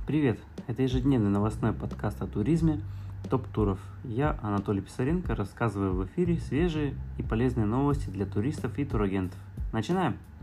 Привет! Это ежедневный новостной подкаст о туризме «Топ туров». Я, Анатолий Писаренко, рассказываю в эфире свежие и полезные новости для туристов и турагентов. Начинаем!